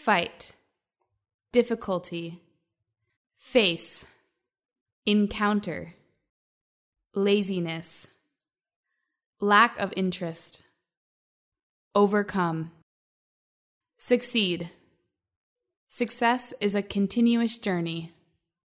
fight, difficulty, face, encounter, laziness, lack of interest, overcome, succeed. Success is a continuous journey.